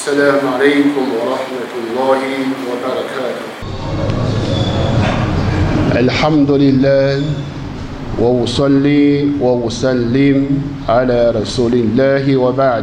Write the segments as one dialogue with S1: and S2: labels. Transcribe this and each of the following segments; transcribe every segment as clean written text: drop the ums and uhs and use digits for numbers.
S1: السلام عليكم ورحمة الله وبركاته. الحمد لله وأصلي وأسلم على رسول الله وبعد。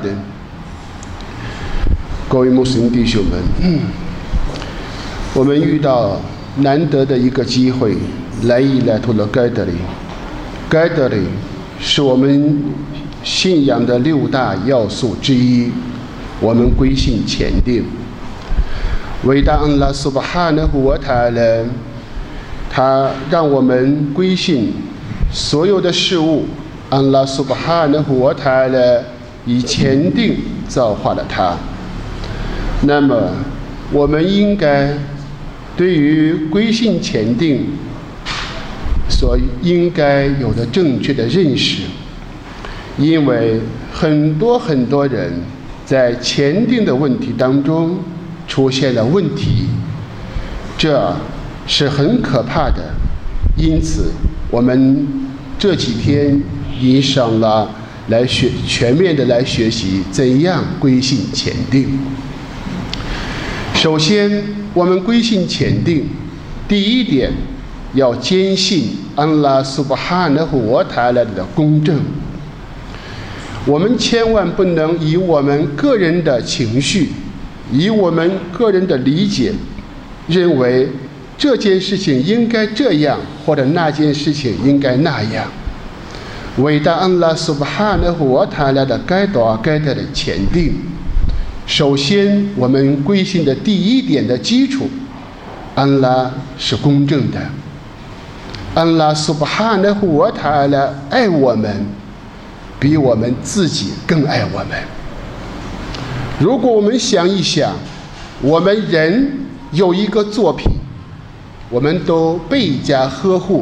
S1: 各位穆斯林弟兄们，我们遇到难得的一个机会，来到了盖德里。盖德里是我们信仰的6大要素之一，我们归信前定。伟大安拉苏巴哈纳胡瓦塔拉，他让我们归信所有的事物，安拉苏巴哈纳胡瓦塔拉以前定造化了他。那么我们应该对于归信前定所应该有的正确的认识，因为很多人在前定的问题当中出现了问题，这是很可怕的。因此我们这几天引上了全面的来学习怎样归信前定。首先我们归信前定，第一点要坚信安拉苏巴哈纳胡瓦塔拉的公正。我们千万不能以我们个人的情绪，以我们个人的理解，认为这件事情应该这样，或者那件事情应该那样。伟大安拉苏巴哈纳胡瓦塔拉的该的前定，首先我们归信的第一点的基础，安拉是公正的。安拉苏巴哈纳胡瓦塔拉爱我们，比我们自己更爱我们。如果我们想一想，我们人有一个作品，我们都倍加呵护。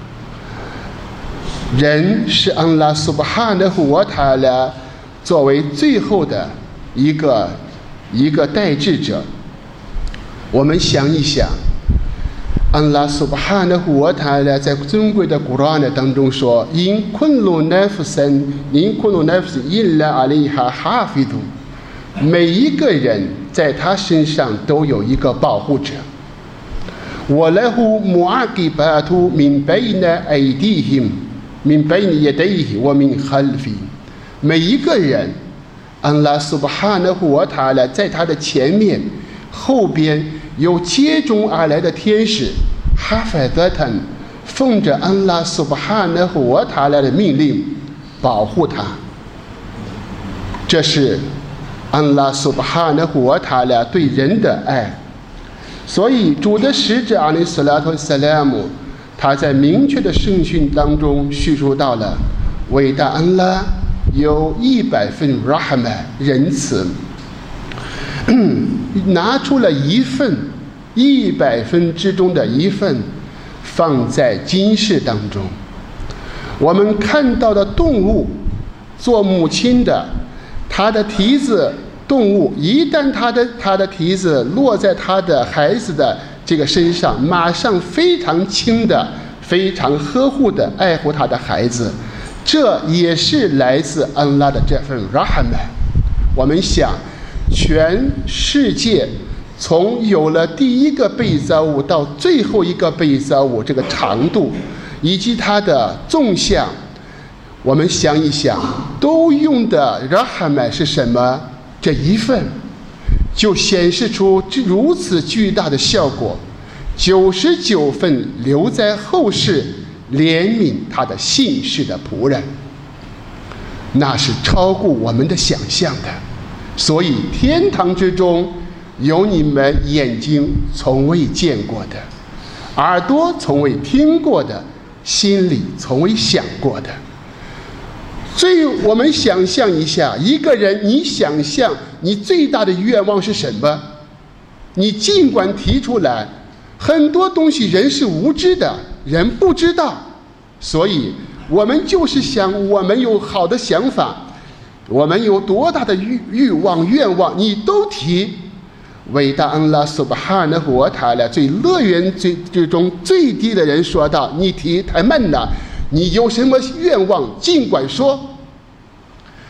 S1: 人是安拉苏巴哈纳胡瓦塔拉作为最后的一个代志者。我们想一想，安拉苏巴哈纳胡瓦塔拉在尊贵的古兰当中说：“因昆鲁奈夫森因拉阿里哈哈菲杜。”每一个人在他身上都有一个保护者。我来乎穆阿吉巴图min bayna aydihim min bayna yadayhi wa min khalfi。每一个人，安拉苏巴哈纳胡瓦塔拉在他的前面、后边有接踵而来的天使，哈法德坦奉着安拉苏巴哈纳胡瓦塔拉的命令保护他。这是安拉苏巴哈纳胡瓦塔拉对人的爱。所以主的使者阿里斯拉图萨拉姆，他在明确的圣训当中叙述到了伟大安拉有100份 rahma 仁慈，拿出了100分之中的1份放在今世当中。我们看到的动物，做母亲的，她的蹄子，动物一旦她的蹄子落在她的孩子的这个身上，马上非常轻的、非常呵护的爱护她的孩子，这也是来自安拉的这份 rahma。 我们想，全世界从有了第一个被造物到最后一个被造物，这个长度以及它的纵向，我们想一想，都用的 rahma 是什么？这1份就显示出如此巨大的效果。99份留在后世怜悯他的信士的仆人，那是超过我们的想象的。所以天堂之中有你们眼睛从未见过的，耳朵从未听过的，心里从未想过的。所以我们想象一下，一个人，你想象你最大的愿望是什么？你尽管提出来，很多东西人是无知的，人不知道，所以我们就是想，我们有好的想法，我们有多大的欲望愿望，你都提。伟大安拉苏巴哈纳胡瓦塔拉最乐园最中最低的人说道：“你提太慢了，你有什么愿望尽管说。”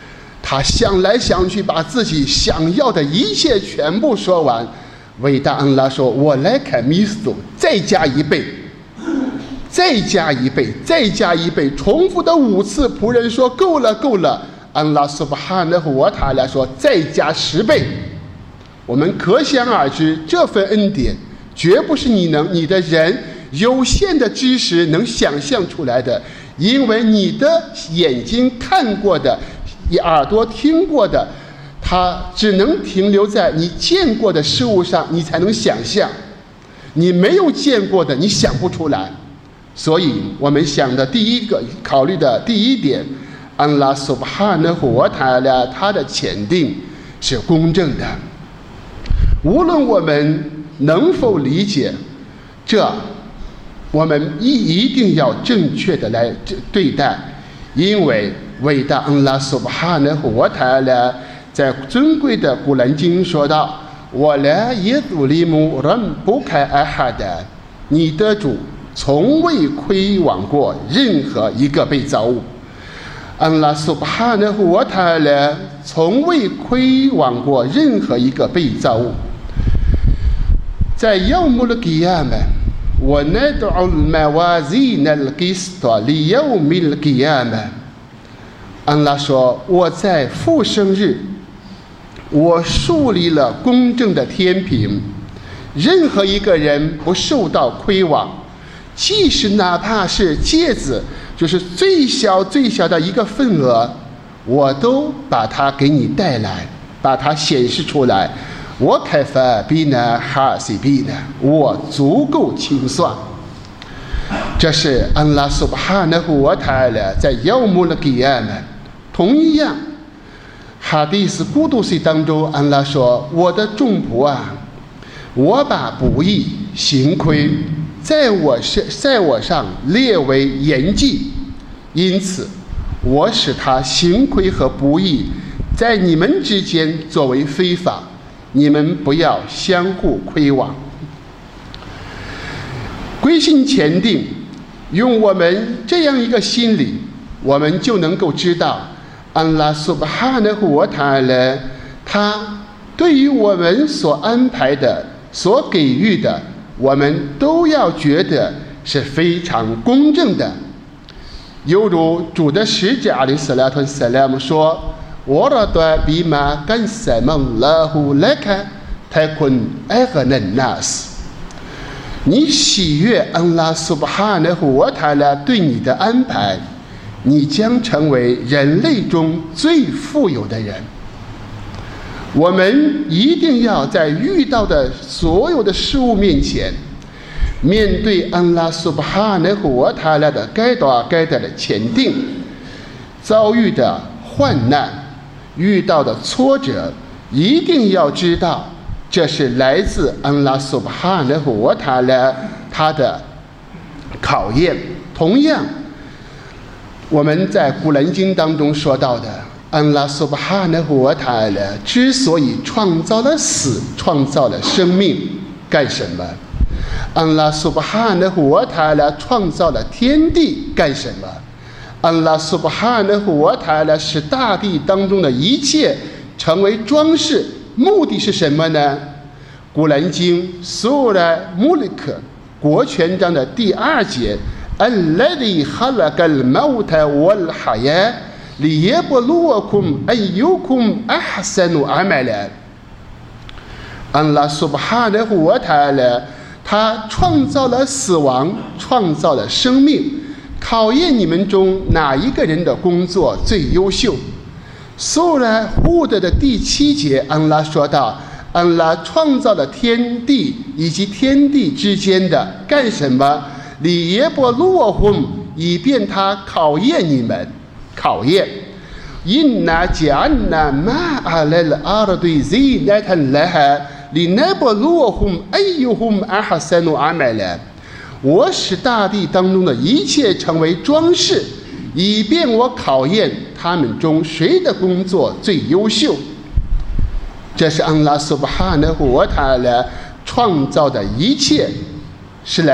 S1: 他想来想去，把自己想要的一切全部说完。伟大安拉说：“我来看米斯，再加1倍，再加1倍，再加1倍。”重复的5次，仆人说：“够了，够了。”安拉苏巴哈纳胡瓦塔拉说：“再加10倍。”我们可想而知，这份恩典绝不是你的人有限的知识能想象出来的，因为你的眼睛看过的，你耳朵听过的，它只能停留在你见过的事物上，你才能想象。你没有见过的，你想不出来。所以我们考虑的第一点，安拉苏巴哈纳胡瓦塔拉他的前定是公正的。无论我们能否理解这，我们一定要正确的来对待，因为伟大安拉苏巴哈纳胡瓦塔拉在尊贵的古兰经说道：“我来耶祖利姆人不开阿哈的，你的主从未亏枉过任何一个被造物。”安拉苏巴哈纳胡瓦塔拉从未亏枉过任何一个被造物。在يوم القيامة وندع الموازين القسط ليوم القيامة， 安拉说：“我在复生日，我树立了公正的天平，任何一个人不受到亏枉，即使哪怕是芥子，就是最小最小的一个份额，我都把它给你带来，把它显示出来。我开发比呢哈西比呢，我足够清算。”这是安拉苏巴哈纳胡瓦塔拉在要姆的给亚们。同样，哈迪斯古杜西当中，安拉说：“我的众仆啊，我把不义行亏在我上列为严纪，因此我使他行亏和不义在你们之间作为非法。你们不要相互亏枉。”归心前定，用我们这样一个心理，我们就能够知道安拉苏巴哈纳胡瓦塔拉他对于我们所安排的、所给予的，我们都要觉得是非常公正的。犹如主的使者阿里斯拉图萨拉姆说：“我拉多比马干什么拉胡来看，太坤爱和能纳斯。”你喜悦安拉苏巴哈纳胡瓦塔拉对你的安排，你将成为人类中最富有的人。我们一定要在遇到的所有的事物面前，面对安拉苏巴哈纳胡瓦塔拉的该的前定，遭遇的患难，遇到的挫折，一定要知道这是来自安拉苏巴哈纳胡瓦塔拉他的考验。同样，我们在古兰经当中说到的，安拉苏巴哈纳胡瓦塔拉之所以创造了死，创造了生命，干什么？安拉苏巴哈纳胡瓦塔拉创造了天地，干什么？安拉苏巴哈纳胡瓦塔拉使大地当中的一切成为装饰，目的是什么呢？古兰经苏拉穆里克国权章的第2节，الذي خلق الموت والحياة ليبلوكم أيكم أحسن عملا。安拉苏巴哈纳胡瓦塔拉他创造了死亡，创造了生命，考验你们中哪一个人的工作最优秀。苏拉胡德的第7节，安拉说道：“安拉创造了天地以及天地之间的干什么？里耶波洛轰，以便他考验你们，考验。inna ja'alna ma'al al-ardi zinatan laha linabluwahum ayyuhum ahsanu amala。我使大地当中的一切成为装饰，以便我考验他们中谁的工作最优秀。”这是安拉苏巴哈纳胡瓦塔拉创造的一切，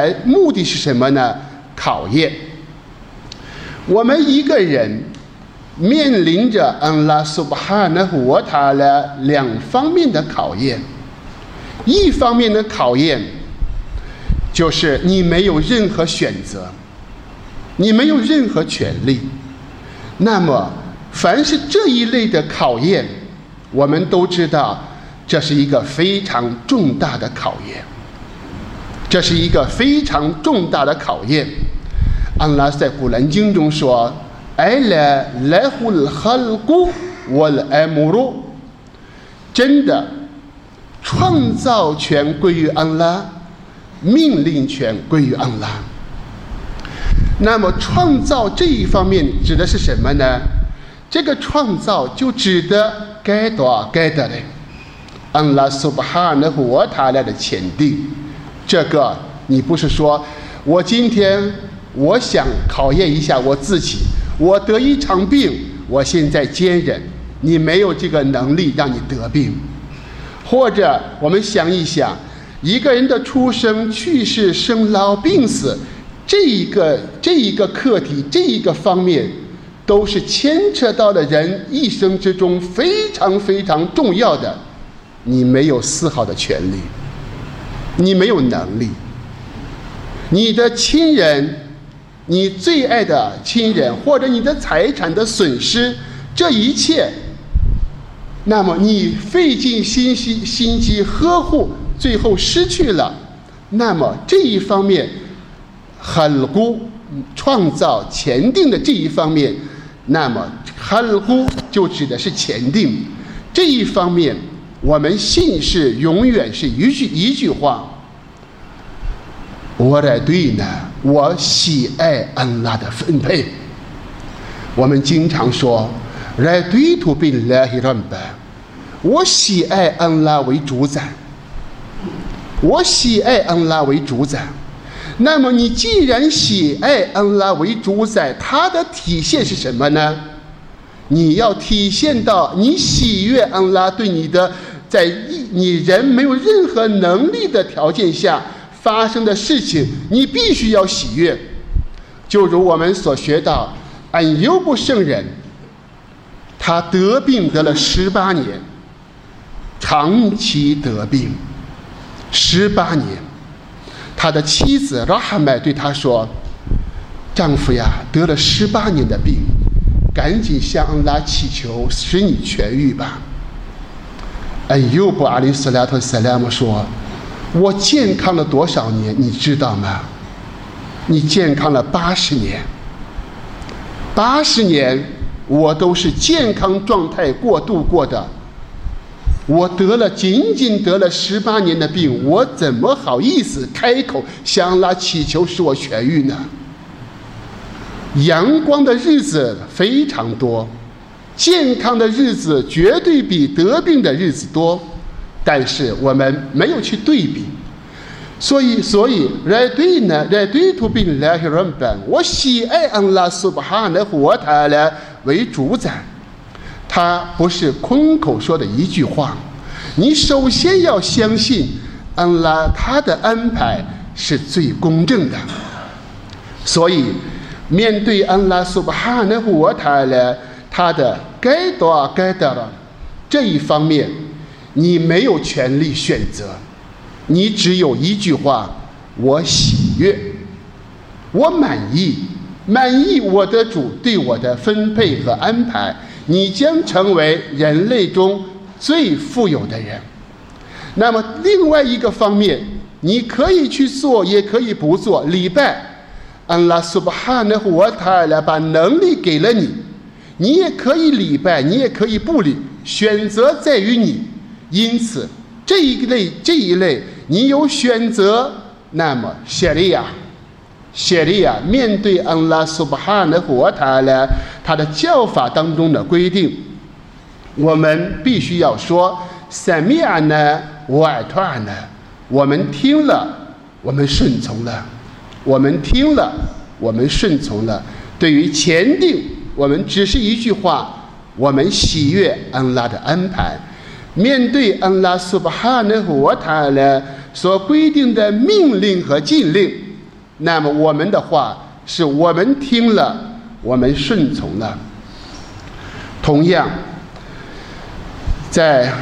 S1: 目的是什么呢？考验我们一个人面临着安拉苏巴哈纳胡wa ta'ala两方面的考验。一方面的考验就是你没有任何选择，你没有任何权利。那么凡是这一类的考验，我们都知道这是一个非常重大的考验，这是一个非常重大的考验。安拉在古兰经中说，Ala lahul khalqu wal amru， 真的创造权归于安拉，命令权归于安拉。那么创造这一方面指的是什么呢？这个创造就指的该多该的嘞，安拉苏巴哈纳胡wa ta'ala的前定。这个你不是说我今天我想考验一下我自己，我得一场病，我现在坚忍，你没有这个能力让你得病。或者我们想一想，一个人的出生、去世、生老病死，这一个课题，这一个方面，都是牵扯到了人一生之中非常非常重要的，你没有丝毫的权利，你没有能力。你的亲人，你最爱的亲人，或者你的财产的损失，这一切，那么你费尽心机呵护，最后失去了，那么这一方面很孤创造前定的这一方面，那么很孤就指的是前定这一方面，我们信是永远是一句话，我来对呢，我喜爱安拉的分配。我们经常说Raditu billahi rabba， 我喜爱安拉为主宰，我喜爱安拉为主宰。那么你既然喜爱安拉为主宰，它的体现是什么呢？你要体现到你喜悦安拉对你的，在你人没有任何能力的条件下发生的事情，你必须要喜悦。就如我们所学到，安尤布圣人，他得病得了18年，长期得病18年。他的妻子拉哈麦对他说，丈夫呀，得了18年的病，赶紧向安拉祈求使你痊愈吧。安尤布阿里斯拉特塞拉姆说，我健康了多少年你知道吗？你健康了80年，80年我都是健康状态度过的，我仅仅得了18年的病，我怎么好意思开口向安拉祈求使我痊愈呢？阳光的日子非常多，健康的日子绝对比得病的日子多，但是我们没有去对比。所以Raditu billahi rabban， 我喜爱安拉苏巴哈纳胡wa ta'ala为主宰。他不是空口说的一句话，你首先要相信安拉他的安排是最公正的。所以面对安拉苏巴哈纳胡wa ta'ala他的该多该得了这一方面，你没有权利选择，你只有一句话，我喜悦，我满意我的主对我的分配和安排，你将成为人类中最富有的人。那么另外一个方面，你可以去做也可以不做礼拜，安拉苏巴哈纳胡wa ta'ala把能力给了你，你也可以礼拜，你也可以不礼，选择在于你。因此这一类你有选择，那么谢利亚面对安拉苏巴哈纳胡wa ta'ala他的教法当中的规定，我们必须要说Sami'na wa ata'na， 我们听了，我们顺从了，我们听了，我们顺从了。对于前定，我们只是一句话，我们喜悦安拉的安排。面对安拉苏巴哈纳胡wa ta'ala所规定的命令和禁令，那么我们的话是我们听了，我们顺从了。 同样，在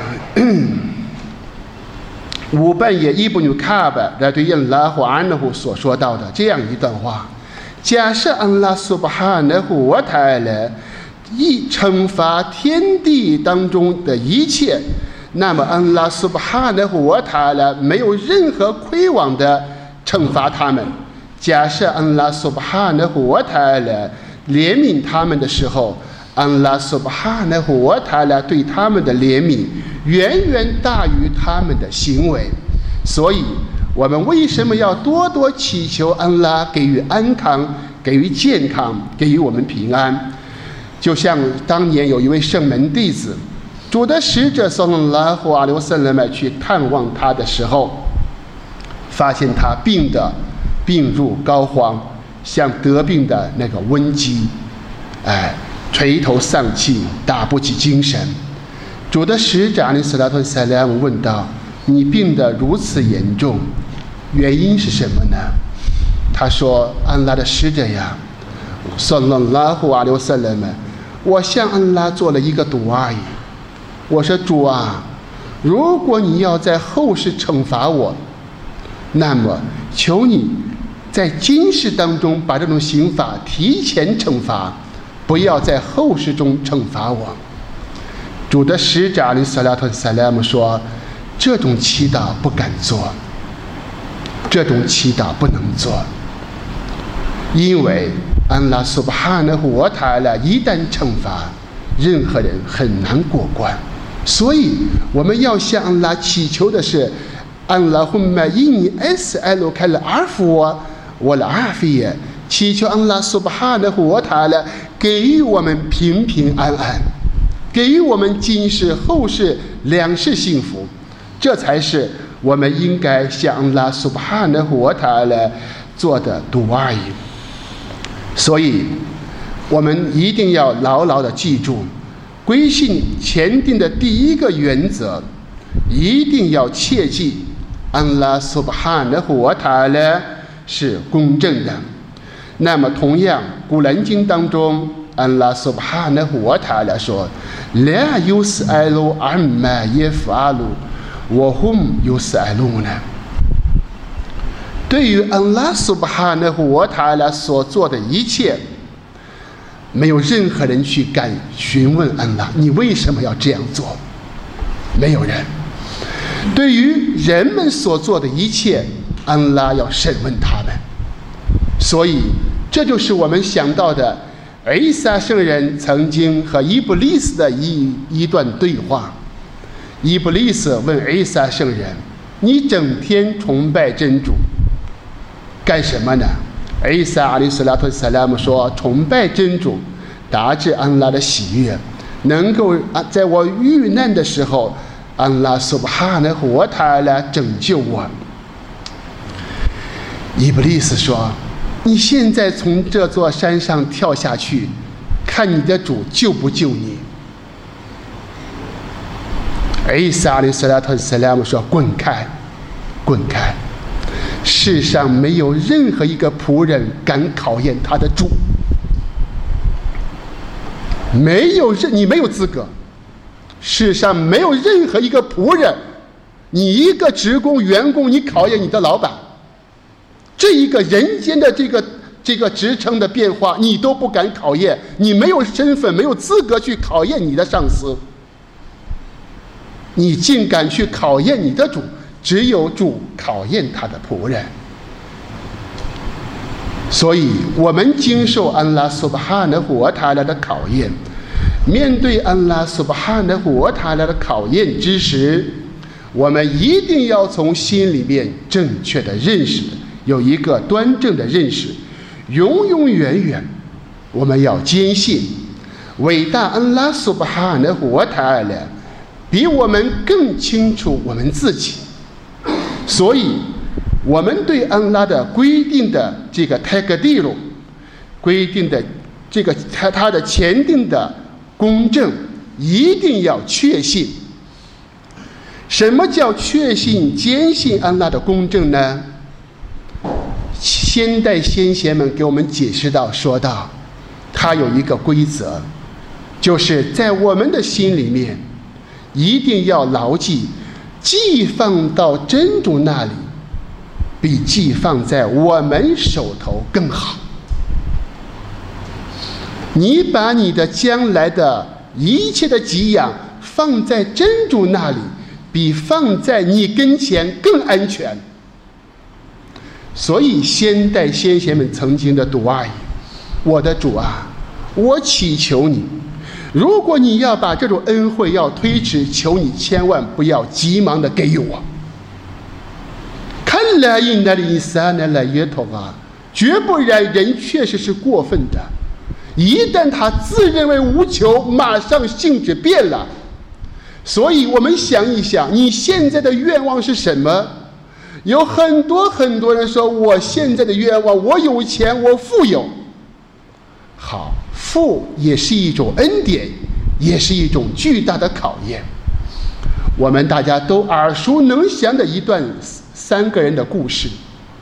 S1: 五半夜伊布努卡巴来对安拉和安拉胡所说到的这样一段话：假设安拉苏巴哈纳胡瓦塔勒一惩罚天地当中的一切，那么安拉苏巴哈纳胡瓦塔勒没有任何亏枉的惩罚他们。假设安拉苏巴哈纳胡瓦塔勒怜悯他们的时候，安拉苏巴哈纳胡瓦塔勒对他们的怜悯远远大于他们的行为。所以我们为什么要多多祈求安拉给予安康，给予健康，给予我们平安？就像当年有一位圣门弟子，主的使者撒拉拉胡阿里瓦萨勒麦去探望他的时候，发现他病入膏肓，像得病的那个瘟疾，垂头丧气，打不起精神。主的使者阿里斯拉特塞莱姆问道：你病得如此严重，原因是什么呢？他说：安拉的使者呀，撒拉拉胡阿里瓦萨勒麦，我向安拉做了一个赌而已。我说：主啊，如果你要在后世惩罚我，那么求你在今世当中把这种刑罚提前惩罚，不要在后世中惩罚我。主的使者阿里萨拉特萨拉姆说：这种祈祷不敢做，这种祈祷不能做，因为安拉苏巴哈纳胡瓦塔勒一旦惩罚，任何人很难过关。所以我们要向安拉祈求的是：安拉胡玛伊尼 SL 开了阿夫我了阿菲耶，祈求安拉苏巴哈纳胡瓦塔勒给予我们平平安安，给予我们今世后世两世幸福，这才是我们应该向安拉苏巴哈纳胡瓦塔勒做的赌而已。所以我们一定要牢牢地记住，归信前定的第一个原则，一定要切记安拉苏巴哈纳胡瓦塔勒是公正的。那么同样，古兰经当中安拉苏巴哈纳胡瓦塔勒说：拉尤斯艾鲁阿玛耶夫阿鲁我hum尤斯艾鲁呢。对于安拉苏巴哈纳胡瓦塔勒所做的一切，没有任何人去敢询问安拉你为什么要这样做，没有人。对于人们所做的一切，安拉要审问他们。所以这就是我们想到的伊撒圣人曾经和伊布利斯的一段对话。伊布利斯问伊撒圣人：你整天崇拜真主干什么呢？伊撒阿里斯拉特萨拉姆说：崇拜真主，达至安拉的喜悦，能够在我遇难的时候，安拉苏巴哈纳胡瓦塔勒拯救我。伊布利斯说：你现在从这座山上跳下去，看你的主救不救你。伊撒阿里斯拉特萨拉姆说：滚开，滚开！世上没有任何一个仆人敢考验他的主，你没有资格。世上没有任何一个仆人，你一个职工员工，你考验你的老板，这一个人间的这个职称的变化你都不敢考验，你没有身份，没有资格去考验你的上司，你竟敢去考验你的主，只有主考验他的仆人。所以我们经受安拉苏巴哈纳胡瓦塔勒的考验，面对安拉苏巴哈纳胡瓦塔勒的考验之时，我们一定要从心里面正确的认识，有一个端正的认识，永永远远我们要坚信伟大安拉苏巴哈纳胡瓦塔勒比我们更清楚我们自己。所以我们对安拉的规定的这个泰格蒂鲁规定的这个他的前定的公正一定要确信。什么叫确信坚信安拉的公正呢？先代先贤们给我们解释到说到，他有一个规则， 就是在我们的心里面一定要牢记，寄放到真主那里比寄放在我们手头更好。你把你的将来的一切的给养放在真主那里，比放在你跟前更安全。所以先代先贤们曾经的读阿语，我的主啊，我祈求你，如果你要把这种恩惠要推迟，求你千万不要急忙的给予我。看来因那里三年来也头啊，绝不然人确实是过分的。一旦他自认为无求，马上性质变了。所以我们想一想，你现在的愿望是什么？有很多人说，我现在的愿望，我有钱，我富有。好，富也是一种恩典，也是一种巨大的考验。我们大家都耳熟能详的一段3个人的故事。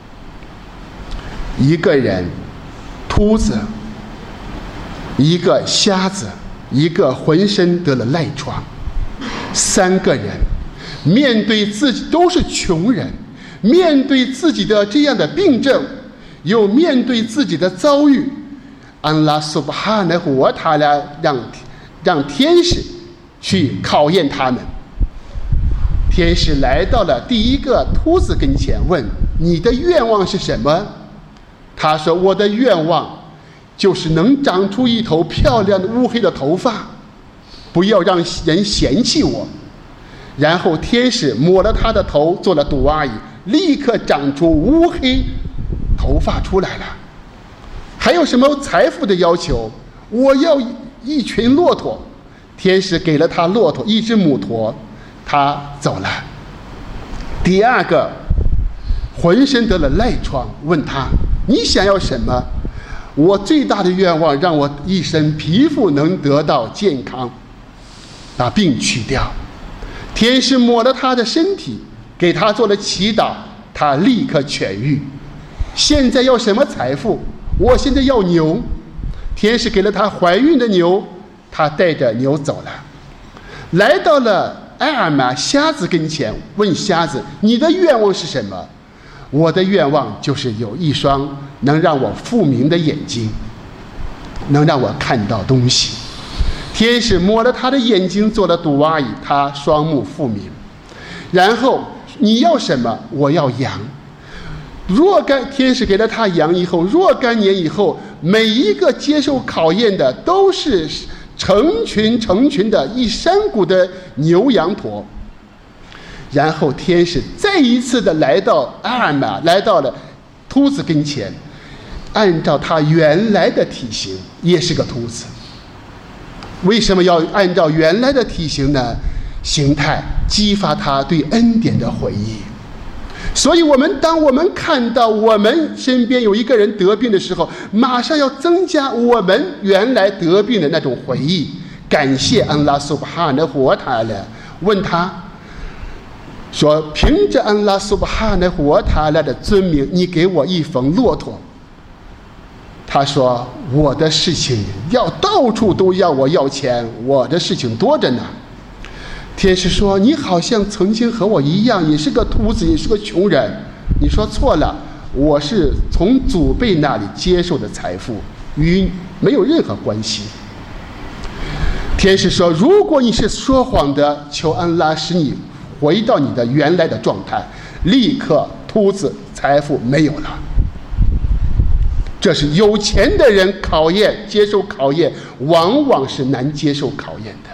S1: 一个人秃子，一个瞎子，一个浑身得了赖疮。3个人面对自己都是穷人，面对自己的这样的病症，又面对自己的遭遇，安拉苏巴哈纳胡瓦塔拉让天使去考验他们。天使来到了第一个秃子跟前，问：你的愿望是什么？他说：我的愿望就是能长出一头漂亮的乌黑的头发，不要让人嫌弃我。然后天使抹了他的头，做了杜阿姨，立刻长出乌黑头发出来了。还有什么财富的要求？我要一群骆驼。天使给了他骆驼，一只母驼，他走了。第二个浑身得了赖疮，问他：你想要什么？我最大的愿望让我一身皮肤能得到健康，把病去掉。天使抹了他的身体，给他做了祈祷，他立刻痊愈。现在要什么财富？我现在要牛。天使给了他怀孕的牛，他带着牛走了。来到了埃尔玛瞎子跟前，问瞎子：你的愿望是什么？我的愿望就是有一双能让我复明的眼睛，能让我看到东西。天使摸了他的眼睛，做了杜阿姨，他双目复明。然后你要什么？我要羊。天使给了他羊以后，若干年以后，每一个接受考验的都是成群的一山谷的牛羊驼。然后天使再一次的来到阿尔玛，来到了秃子跟前，按照他原来的体型，也是个秃子。为什么要按照原来的体型呢？形态激发他对恩典的回忆。所以当我们看到我们身边有一个人得病的时候，马上要增加我们原来得病的那种回忆，感谢安拉苏巴哈纳胡瓦塔拉。问他说：凭着安拉苏巴哈纳胡瓦塔拉的尊名，你给我一逢骆驼。他说：我的事情要到处都要我要钱，我的事情多着呢。天使说：你好像曾经和我一样，也是个秃子，也是个穷人。你说错了，我是从祖辈那里接受的财富，与没有任何关系。天使说：如果你是说谎的，求安拉使你回到你的原来的状态。立刻秃子财富没有了。这是有钱的人接受考验往往是难接受考验的。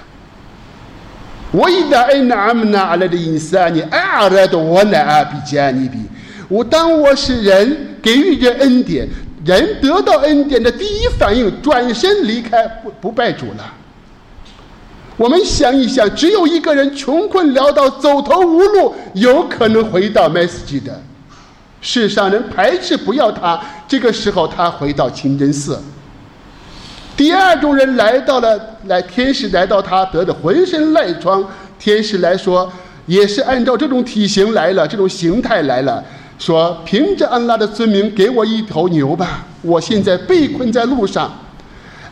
S1: 当我是人，给予人恩典，人得到恩典的第一反应，转身离开，不拜主了。我们想一想，只有一个人穷困潦倒，走投无路，有可能回到麦斯基的。世上人排斥不要他，这个时候他回到清真寺。第二种人天使来到他得的浑身赖疮，天使来说也是按照这种体型来了，这种形态来了，说凭着安拉的尊名给我一头牛吧，我现在被困在路上。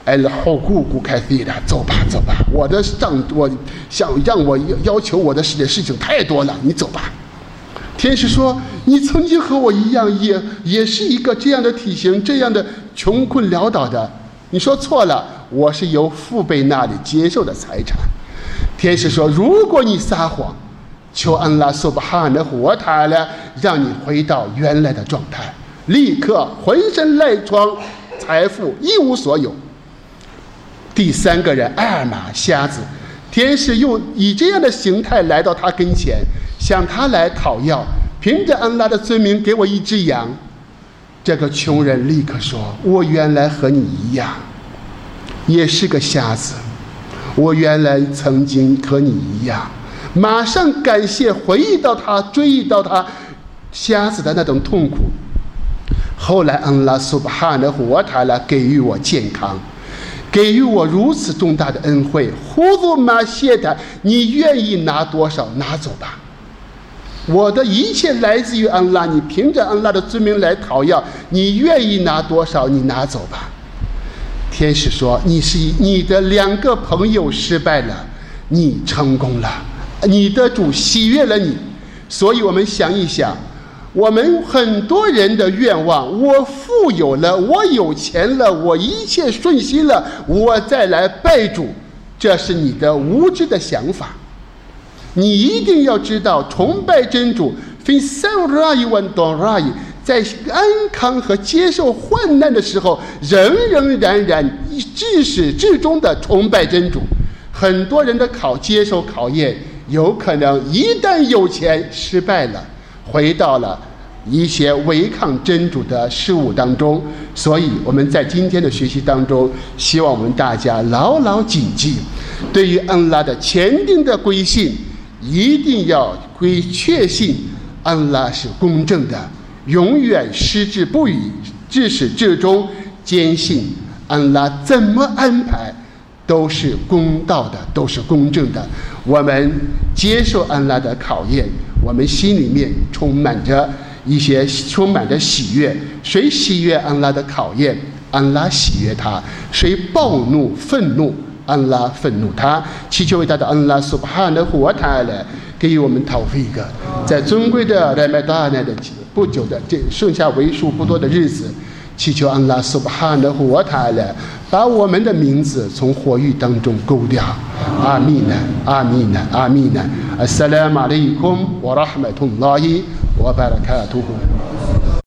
S1: الحقوق كثيرة，走吧走吧，我想让我要求我的事情太多了，你走吧。天使说，你曾经和我一样，也是一个这样的体型，这样的穷困潦倒的。你说错了，我是由父辈那里接受的财产。天使说，如果你撒谎，求安拉苏巴哈的活塔了，让你回到原来的状态，立刻浑身赖疮，财富一无所有。第三个人艾尔玛瞎子，天使又以这样的形态来到他跟前，向他来讨要，凭着安拉的尊名给我一只羊。这个穷人立刻说，我原来和你一样，也是个瞎子，我原来曾经和你一样。马上感谢，回忆到他，追忆到他瞎子的那种痛苦。后来安拉苏巴哈纳胡瓦塔拉给予我健康，给予我如此重大的恩惠。呼祖玛谢他，你愿意拿多少拿走吧，我的一切来自于安拉，你凭着安拉的尊名来讨要，你愿意拿多少你拿走吧。天使说，你的2个朋友失败了，你成功了，你的主喜悦了你。所以我们想一想，我们很多人的愿望，我富有了，我有钱了，我一切顺心了，我再来拜主，这是你的无知的想法。你一定要知道，崇拜真主在安康和接受患难的时候，仍然至始至终的崇拜真主。很多人的接受考验，有可能一旦有钱失败了，回到了一些违抗真主的事物当中。所以我们在今天的学习当中，希望我们大家牢牢谨记，对于安拉的前定的归信，一定要确信安拉是公正的，永远矢志不渝，至始至终坚信安拉怎么安排都是公道的，都是公正的。我们接受安拉的考验，我们心里面充满着喜悦。谁喜悦安拉的考验，安拉喜悦他；谁暴怒愤怒，安拉愤怒他。祈求伟大的安拉苏巴哈纳胡瓦塔拉给予我们讨费一个，在尊贵的来麦达奈的不久的这剩下为数不多的日子，祈求安拉苏巴哈纳胡瓦塔拉把我们的名字从火狱当中勾掉。阿弥呢，阿弥呢，阿弥呢。Assalamu alaikum wa rahmatullahi wa barakatuhu。